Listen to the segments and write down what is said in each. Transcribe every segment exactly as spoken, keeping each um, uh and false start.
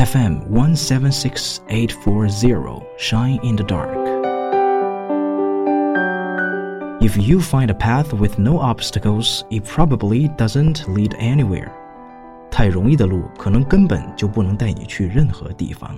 F M one seven six eight four zero Shine in the Dark. If you find a path with no obstacles, it probably doesn't lead anywhere. 太容易的路可能根本就不能带你去任何地方。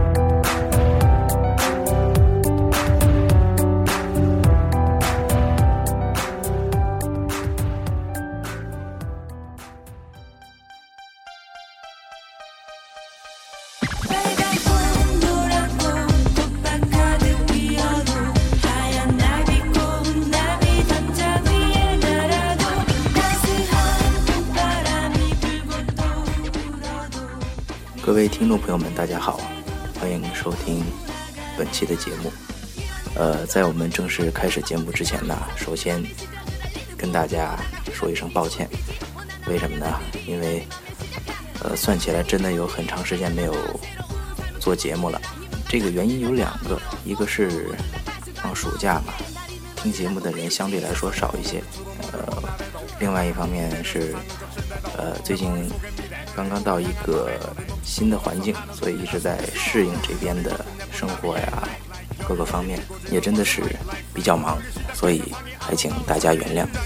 各位听众朋友们大家好，欢迎收听本期的节目。呃，在我们正式开始节目之前呢，首先跟大家说一声抱歉。为什么呢？因为呃，算起来真的有很长时间没有做节目了。这个原因有两个，一个是放暑假嘛，听节目的人相对来说少一些。呃，另外一方面是呃，最近刚刚到一个新的环境，所以一直在适应这边的生活呀，各个方面也真的是比较忙，所以还请大家原谅。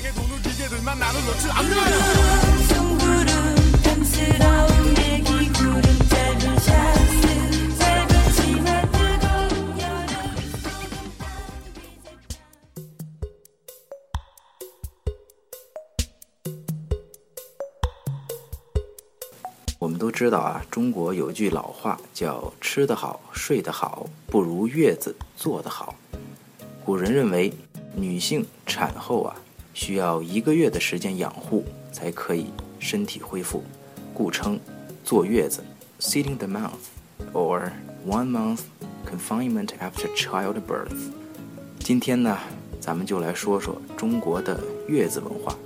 我们都知道啊，中国有句老话叫吃得好睡得好不如月子做得好。古人认为女性产后啊需要一个月的时间养护才可以身体恢复，故称坐月子 sitting the month or one month confinement after childbirth。 今天呢，咱们就来说说中国的月子文化。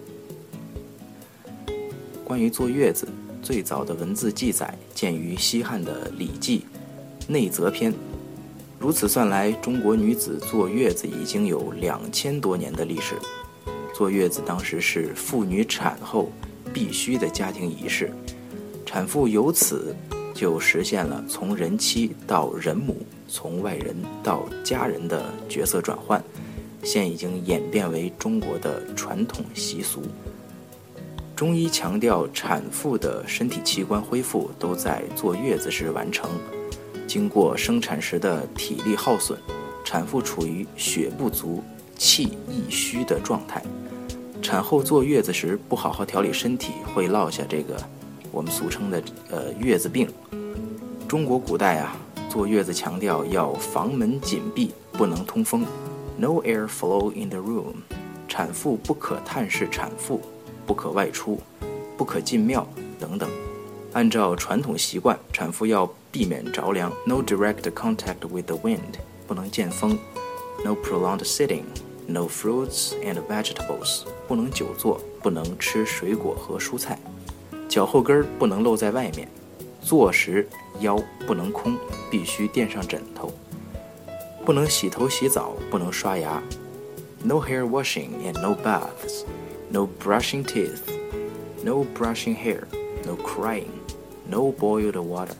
关于坐月子，最早的文字记载见于西汉的《礼记·内则篇》。如此算来，中国女子坐月子已经有两千多年的历史。坐月子当时是妇女产后必须的家庭仪式，产妇由此就实现了从人妻到人母，从外人到家人的角色转换，现已经演变为中国的传统习俗。中医强调产妇的身体器官恢复都在坐月子时完成，经过生产时的体力耗损，产妇处于血不足、气易虚的状态。产后坐月子时不好好调理身体，会落下这个我们俗称的呃月子病。中国古代啊，坐月子强调要房门紧闭，不能通风 ，no air flow in the room。产妇不可探视产妇，不可外出，不可进庙等等。按照传统习惯，产妇要避免着凉 no direct contact with the wind， 不能见风 no prolonged sitting， no fruits and vegetables， 不能久坐，不能吃水果和蔬菜，脚后跟不能露在外面，坐时腰不能空，必须垫上枕头，不能洗头洗澡，不能刷牙 no hair washing and no baths，No brushing teeth, no brushing hair, no crying, no boiled water.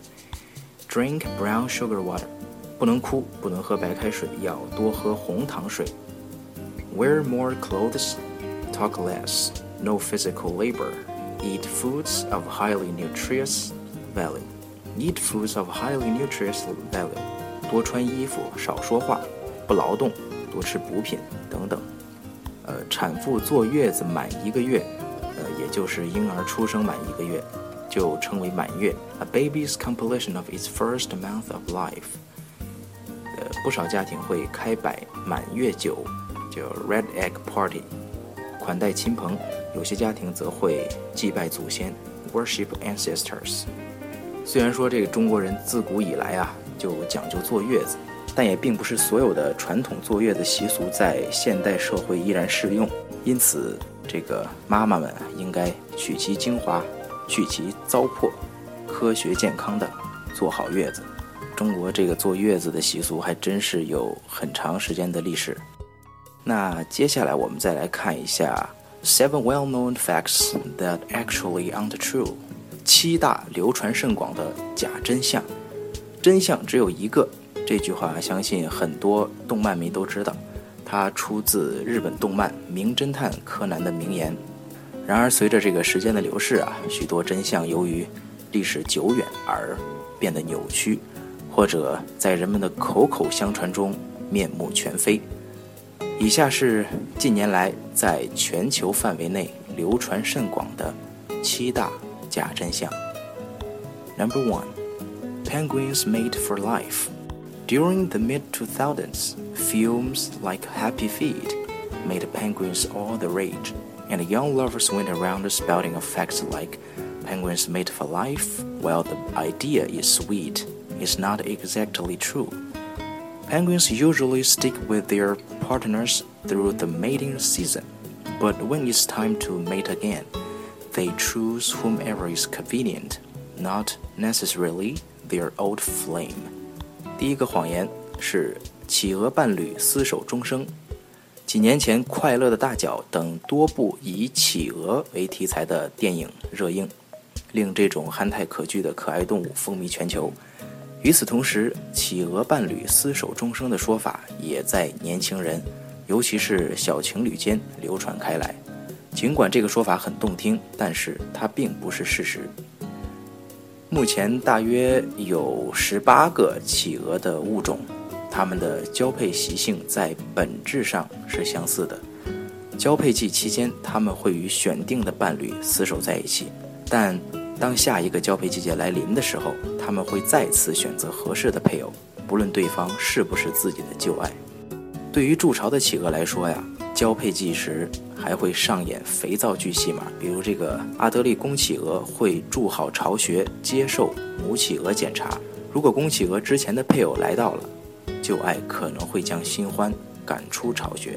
Drink brown sugar water. 不能哭，不能喝白开水，要多喝红糖水。Wear more clothes, talk less, no physical labor. Eat foods of highly nutritious value. Eat foods of highly nutritious value. 多穿衣服，少说话，不劳动，多吃补品等等。呃，产妇坐月子满一个月，呃，也就是婴儿出生满一个月，就称为满月。A baby's completion of its first month of life。呃，不少家庭会开摆满月酒，叫 Red Egg Party， 款待亲朋。有些家庭则会祭拜祖先 ，Worship ancestors。虽然说这个中国人自古以来啊，就讲究坐月子。但也并不是所有的传统坐月子习俗在现代社会依然适用，因此这个妈妈们应该取其精华，去其糟粕，科学健康的坐好月子。中国这个坐月子的习俗还真是有很长时间的历史。那接下来我们再来看一下 seven well-known facts that actually aren't true， 七大流传甚广的假真相。 真相只有一个，这句话相信很多动漫迷都知道，它出自日本动漫《名侦探柯南》的名言。然而随着这个时间的流逝啊，许多真相由于历史久远而变得扭曲，或者在人们的口口相传中面目全非。以下是近年来在全球范围内流传甚广的七大假真相。 Number one, Penguins made for life. During the mid two thousands, films like Happy Feet made penguins all the rage, and young lovers went around spouting facts like penguins made for life, while the idea is sweet, is not exactly true. Penguins usually stick with their partners through the mating season, but when it's time to mate again, they choose whomever is convenient, not necessarily their old flame. 第一个谎言是企鹅伴侣厮守终生。几年前，《快乐的大脚》等多部以企鹅为题材的电影热映，令这种憨态可掬的可爱动物风靡全球。与此同时，企鹅伴侣厮守终生的说法也在年轻人，尤其是小情侣间流传开来。尽管这个说法很动听，但是它并不是事实。目前大约有十八个企鹅的物种，它们的交配习性在本质上是相似的。交配季期间，它们会与选定的伴侣厮守在一起，但当下一个交配季节来临的时候，它们会再次选择合适的配偶，不论对方是不是自己的旧爱。对于筑巢的企鹅来说呀，交配季时还会上演肥皂剧戏码，比如这个阿德利公企鹅会筑好巢穴，接受母企鹅检查。如果公企鹅之前的配偶来到了，旧爱可能会将新欢赶出巢穴。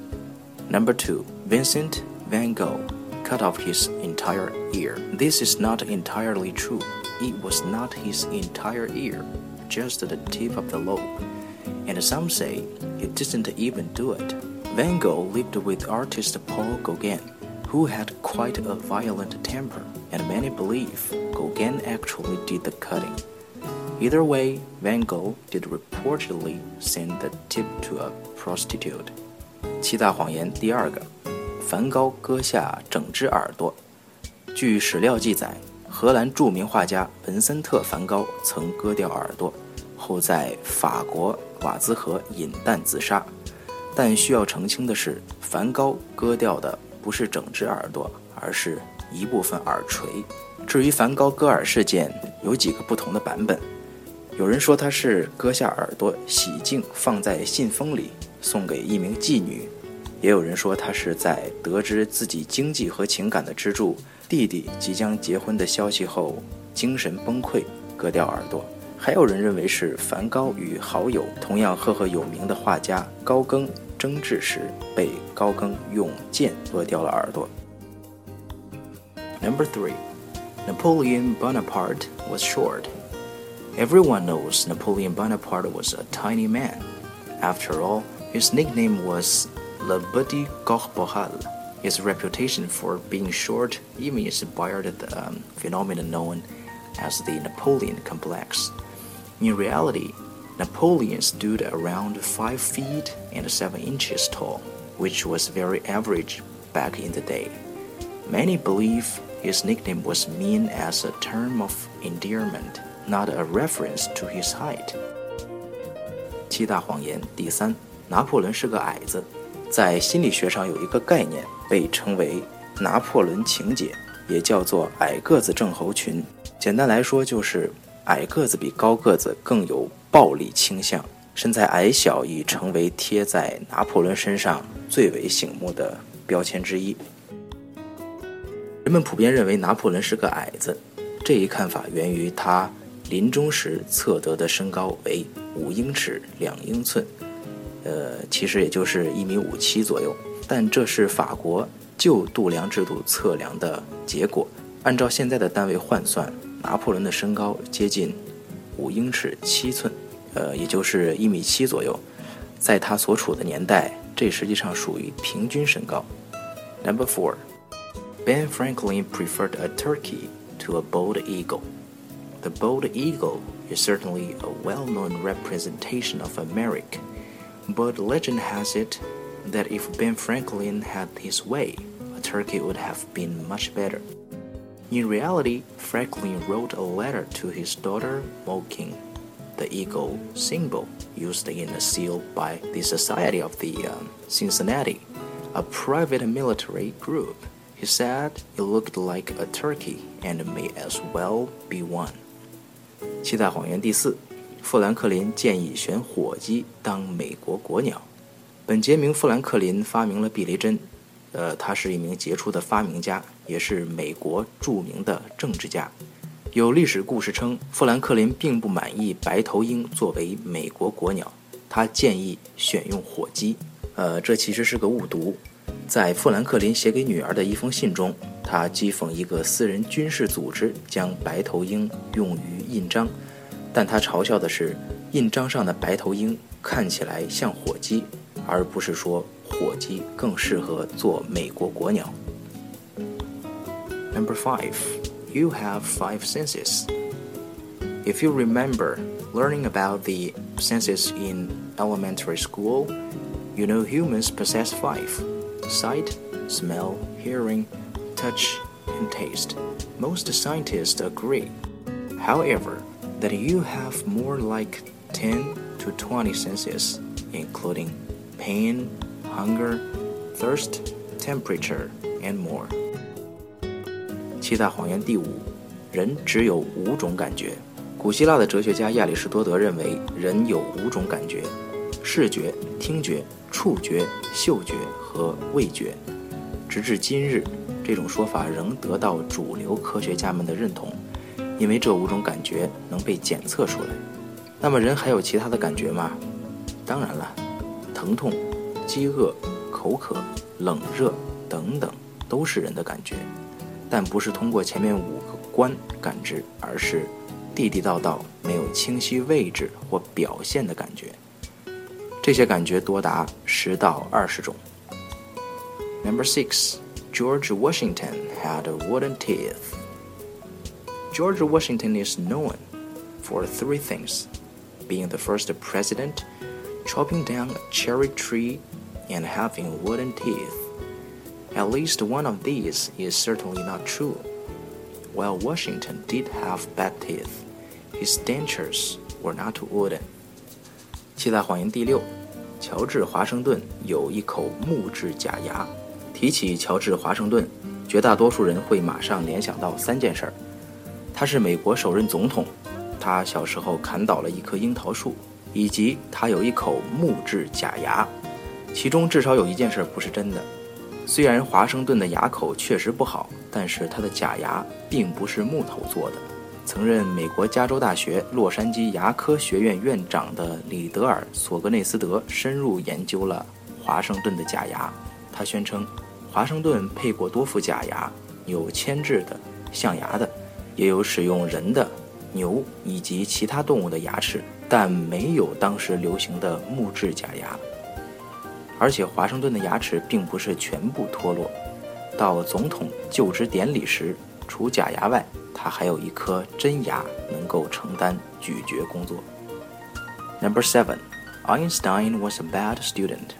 Number two, Vincent van Gogh cut off his entire ear. This is not entirely true. It was not his entire ear, just the tip of the lobe. And some say it didn't even do it. Van Gogh lived with artist Paul Gauguin, who had quite a violent temper, and many believe Gauguin actually did the cutting. Either way, Van Gogh did reportedly send the tip to a prostitute. 七大谎言第二个，梵高割下整只耳朵。据史料记载，荷兰著名画家文森特·梵高曾割掉耳朵，后在法国瓦兹河饮弹自杀。但需要澄清的是，梵高割掉的不是整只耳朵，而是一部分耳垂。至于梵高割耳事件，有几个不同的版本。有人说他是割下耳朵洗净放在信封里送给一名妓女，也有人说他是在得知自己经济和情感的支柱弟弟即将结婚的消息后精神崩溃割掉耳朵。还有人认为是梵高与好友同样赫赫有名的画家高更争执时，被高更用剑割掉了耳朵。 Number three, Napoleon Bonaparte was short.Everyone knows Napoleon Bonaparte was a tiny man. After all, his nickname was Le Petit Corporal. His reputation for being short even inspired the um, phenomenon known as the Napoleon complex. In reality, Napoleon stood around five feet and seven inches tall, which was very average back in the day. Many believe his nickname was meant as a term of endearment.Not a reference to his height. 七大谎言第三，拿破仑是个矮子。在心理学上有一个概念被称为拿破仑情节，也叫做矮个子症候群。简单来说就是矮个子比高个子更有暴力倾向，身材矮小已成为贴在拿破仑身上最为醒目的标签之一。人们普遍认为拿破仑是个矮子，这一看法源于他临终时测得的身高为五英尺两英寸，呃，其实也就是一米五七左右。但这是法国旧度量制度测量的结果。按照现在的单位换算，拿破仑的身高接近五英尺七寸，呃，也就是一米七左右。在他所处的年代，这实际上属于平均身高。Number four, Ben Franklin preferred a turkey to a bald eagle. The bald eagle is certainly a well-known representation of America, but legend has it that if Ben Franklin had his way, a turkey would have been much better. In reality, Franklin wrote a letter to his daughter mocking the eagle symbol used in a seal by the Society of the um, Cincinnati, a private military group. He said it looked like a turkey and may as well be one. 七大谎言第四，富兰克林建议选火鸡当美国国鸟。本杰明·富兰克林发明了避雷针，呃，他是一名杰出的发明家，也是美国著名的政治家。有历史故事称，富兰克林并不满意白头鹰作为美国国鸟，他建议选用火鸡。呃，这其实是个误读。在富兰克林写给女儿的一封信中，他讥讽一个私人军事组织将白头鹰用于印章，但他嘲笑的是印章上的白头鹰看起来像火鸡，而不是说火鸡更适合做美国国鸟。Number five, you have five senses. If you remember learning about the senses in elementary school, you know humans possess five: sight, smell, hearing, touch, and taste. Most scientists agree, however, that you have more like ten to twenty senses, including pain, hunger, thirst, temperature, and more. 七大谎言第五，人只有五种感觉。古希腊的哲学家亚里士多德认为，人有五种感觉：视觉、听觉、触觉、嗅觉和味觉。直至今日，这种说法仍得到主流科学家们的认同，因为这五种感觉能被检测出来。那么人还有其他的感觉吗？当然了，疼痛、饥饿、口渴、冷热等等都是人的感觉，但不是通过前面五个观感知，而是地地道道没有清晰位置或表现的感觉。这些感觉多达十到二十种。Number six, George Washington had wooden teeth. George Washington is known for three things: being the first president, chopping down a cherry tree, and having wooden teeth. At least one of these is certainly not true. While Washington did have bad teeth, his dentures were not wooden. 七大谎言第六，乔治·华盛顿有一口木质假牙。提起乔治·华盛顿，绝大多数人会马上联想到三件事儿：他是美国首任总统，他小时候砍倒了一棵樱桃树，以及他有一口木质假牙。其中至少有一件事不是真的。虽然华盛顿的牙口确实不好，但是他的假牙并不是木头做的。曾任美国加州大学洛杉矶牙科学院院长的里德尔·索格内斯德深入研究了华盛顿的假牙。他宣称，华盛顿配过多副假牙，有铅制的、象牙的，也有使用人的、牛以及其他动物的牙齿，但没有当时流行的木质假牙。而且华盛顿的牙齿并不是全部脱落，到总统就职典礼时，除假牙外，他还有一颗真牙能够承担咀嚼工作。Number seven, Einstein was a bad student.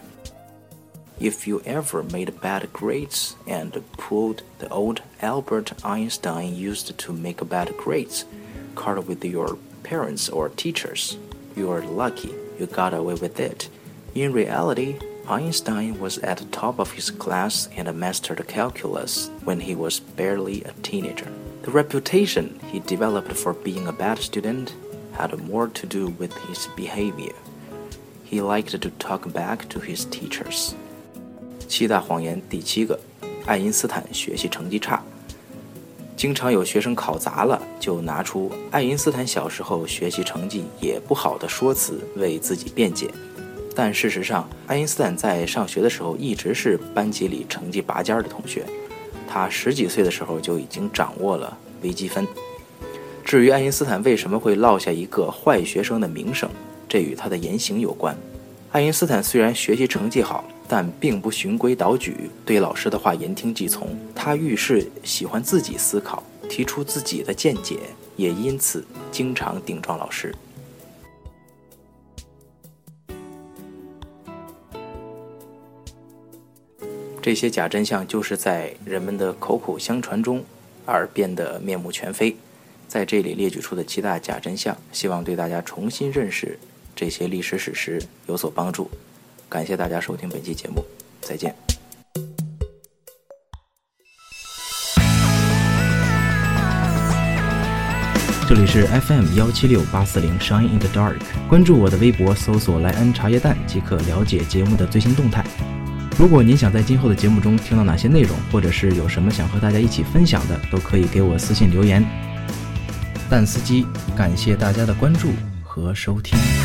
If you ever made bad grades and pulled the old Albert Einstein used to make bad grades card with your parents or teachers, you are lucky you got away with it. In reality, Einstein was at the top of his class and mastered calculus when he was barely a teenager. The reputation he developed for being a bad student had more to do with his behavior. He liked to talk back to his teachers. 七大谎言第七个，爱因斯坦学习成绩差。经常有学生考砸了，就拿出爱因斯坦小时候学习成绩也不好的说辞为自己辩解。但事实上，爱因斯坦在上学的时候一直是班级里成绩拔尖的同学。他十几岁的时候就已经掌握了微积分。至于爱因斯坦为什么会落下一个坏学生的名声，这与他的言行有关。爱因斯坦虽然学习成绩好，但并不循规蹈矩，对老师的话言听计从。他遇事喜欢自己思考，提出自己的见解， 也因此经常顶撞老师。这些假真相就是在人们的口口相传中而变得面目全非。在这里列举出的七大假真相，希望对大家重新认识这些历史史实有所帮助。感谢大家收听本期节目，再见。 这里是 F M 一七六八四零 Shine in the Dark， 关注我的微博，搜索莱恩茶叶蛋即可了解节目的最新动态。如果您想在今后的节目中听到哪些内容，或者是有什么想和大家一起分享的，都可以给我私信留言。蛋司机，感谢大家的关注和收听。